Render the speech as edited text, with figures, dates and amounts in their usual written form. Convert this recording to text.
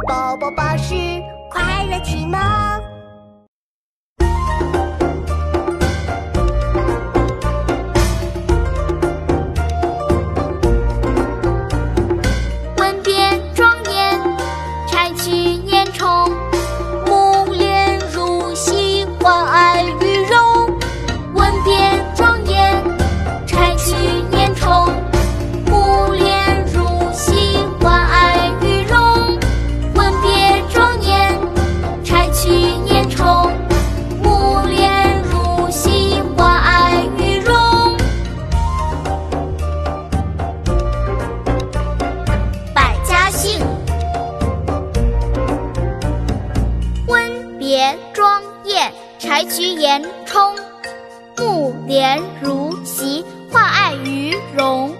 宝宝巴士快乐启蒙。 文匾庄严，拆去年虫，木莲如洗，换爱与荣。文匾庄严，拆去年虫，木莲如洗，换爱与荣。文匾庄严，拆去年虫，木莲如洗，换爱与荣。百家姓。文匾庄严，拆去年虫，木莲如洗，换爱与荣。